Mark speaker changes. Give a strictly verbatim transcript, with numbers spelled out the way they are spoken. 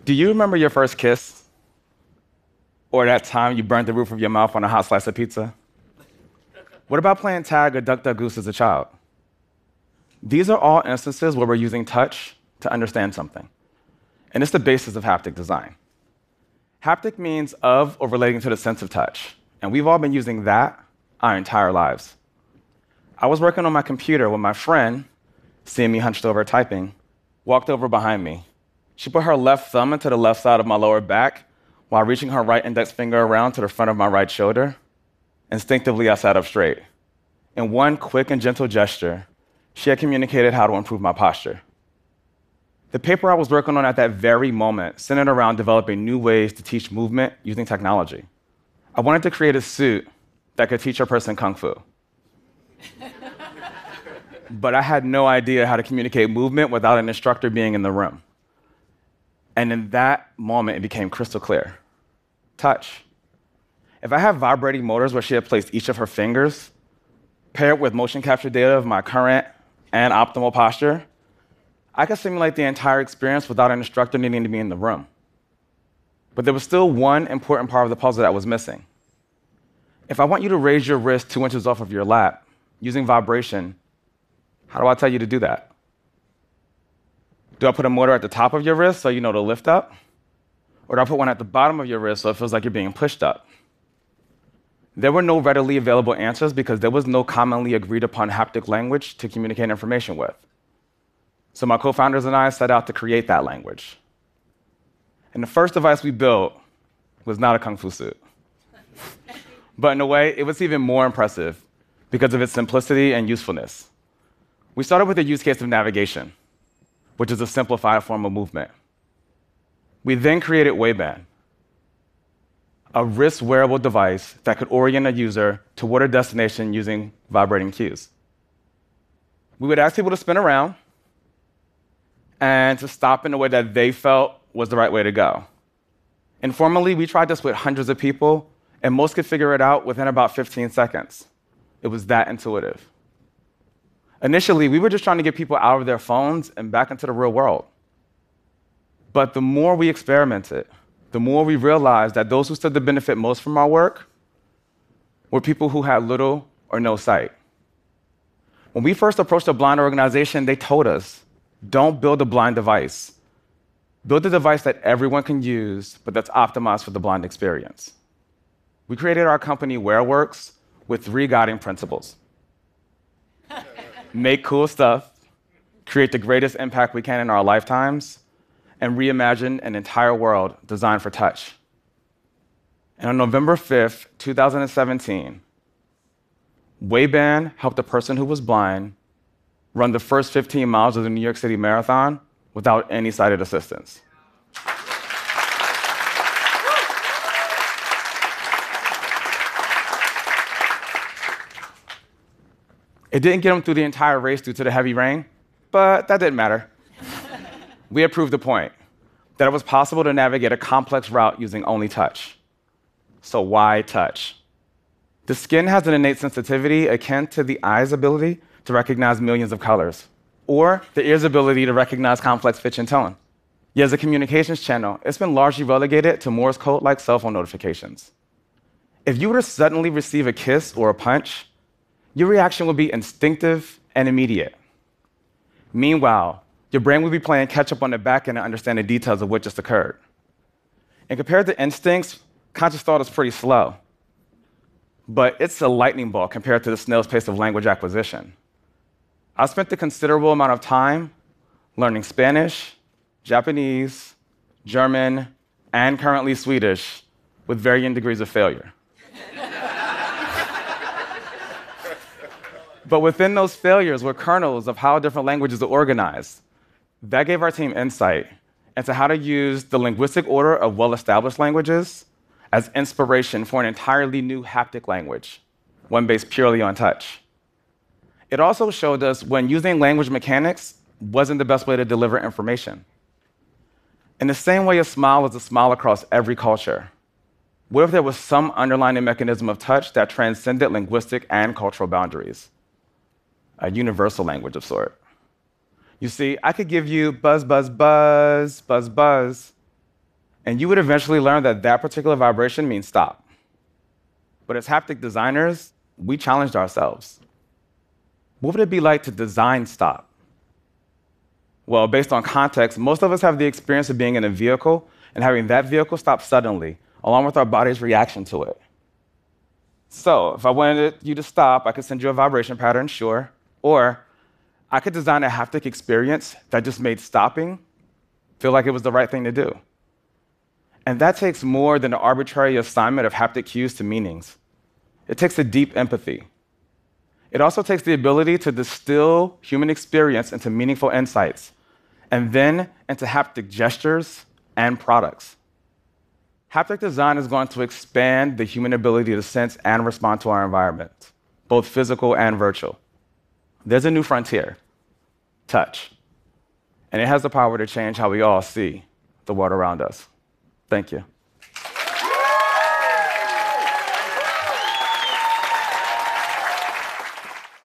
Speaker 1: Do you remember your first kiss? Or that time you burned the roof of your mouth on a hot slice of pizza? What about playing tag or duck, duck, goose as a child? These are all instances where we're using touch to understand something. And it's the basis of haptic design. Haptic means of or relating to the sense of touch. And we've all been using that our entire lives. I was working on my computer when my friend, seeing me hunched over typing, walked over behind me. She put her left thumb into the left side of my lower back while reaching her right index finger around to the front of my right shoulder. Instinctively, I sat up straight. In one quick and gentle gesture, she had communicated how to improve my posture. The paper I was working on at that very moment centered around developing new ways to teach movement using technology. I wanted to create a suit that could teach a person Kung Fu. But I had no idea how to communicate movement without an instructor being in the room. And in that moment, it became crystal clear. Touch. If I have vibrating motors where she had placed each of her fingers, paired with motion capture data of my current and optimal posture, I could simulate the entire experience without an instructor needing to be in the room. But there was still one important part of the puzzle that was missing. If I want you to raise your wrist two inches off of your lap using vibration, how do I tell you to do that? Do I put a motor at the top of your wrist so you know to lift up? Or do I put one at the bottom of your wrist so it feels like you're being pushed up? There were no readily available answers because there was no commonly agreed upon haptic language to communicate information with. So my co-founders and I set out to create that language. And the first device we built was not a Kung Fu suit. But in a way, it was even more impressive because of its simplicity and usefulness. We started with a use case of navigation, which is a simplified form of movement. We then created Wayband, a wrist-wearable device that could orient a user toward a destination using vibrating cues. We would ask people to spin around and to stop in a way that they felt was the right way to go. Informally, we tried this with hundreds of people, and most could figure it out within about fifteen seconds. It was that intuitive. Initially, we were just trying to get people out of their phones and back into the real world. But the more we experimented, the more we realized that those who stood to benefit most from our work were people who had little or no sight. When we first approached a blind organization, they told us, don't build a blind device. Build a device that everyone can use, but that's optimized for the blind experience. We created our company, WearWorks, with three guiding principles. Make cool stuff, create the greatest impact we can in our lifetimes, and reimagine an entire world designed for touch. And on November fifth, two thousand seventeen, Wayband helped a person who was blind run the first fifteen miles of the New York City Marathon without any sighted assistance. It didn't get him through the entire race due to the heavy rain, but that didn't matter. We had proved the point, that it was possible to navigate a complex route using only touch. So why touch? The skin has an innate sensitivity akin to the eye's ability to recognize millions of colors, or the ear's ability to recognize complex pitch and tone. Yet as a communications channel, it's been largely relegated to Morse code-like cell phone notifications. If you were to suddenly receive a kiss or a punch, your reaction would be instinctive and immediate. Meanwhile, your brain would be playing catch-up on the back end to understand the details of what just occurred. And compared to instincts, conscious thought is pretty slow. But it's a lightning bolt compared to the snail's pace of language acquisition. I spent a considerable amount of time learning Spanish, Japanese, German, and currently Swedish with varying degrees of failure. But within those failures were kernels of how different languages are organized. That gave our team insight into how to use the linguistic order of well-established languages as inspiration for an entirely new haptic language, one based purely on touch. It also showed us when using language mechanics wasn't the best way to deliver information. In the same way a smile is a smile across every culture, what if there was some underlying mechanism of touch that transcended linguistic and cultural boundaries? A universal language of sort. You see, I could give you buzz, buzz, buzz, buzz, buzz, And you would eventually learn that that particular vibration means stop. But as haptic designers, we challenged ourselves. What would it be like to design stop? Well, based on context, most of us have the experience of being in a vehicle and having that vehicle stop suddenly, along with our body's reaction to it. So if I wanted you to stop, I could send you a vibration pattern, sure. Or I could design a haptic experience that just made stopping feel like it was the right thing to do. And that takes more than an arbitrary assignment of haptic cues to meanings. It takes a deep empathy. It also takes the ability to distill human experience into meaningful insights, and then into haptic gestures and products. Haptic design is going to expand the human ability to sense and respond to our environment, both physical and virtual. There's a new frontier, touch. And it has the power to change how we all see the world around us. Thank you.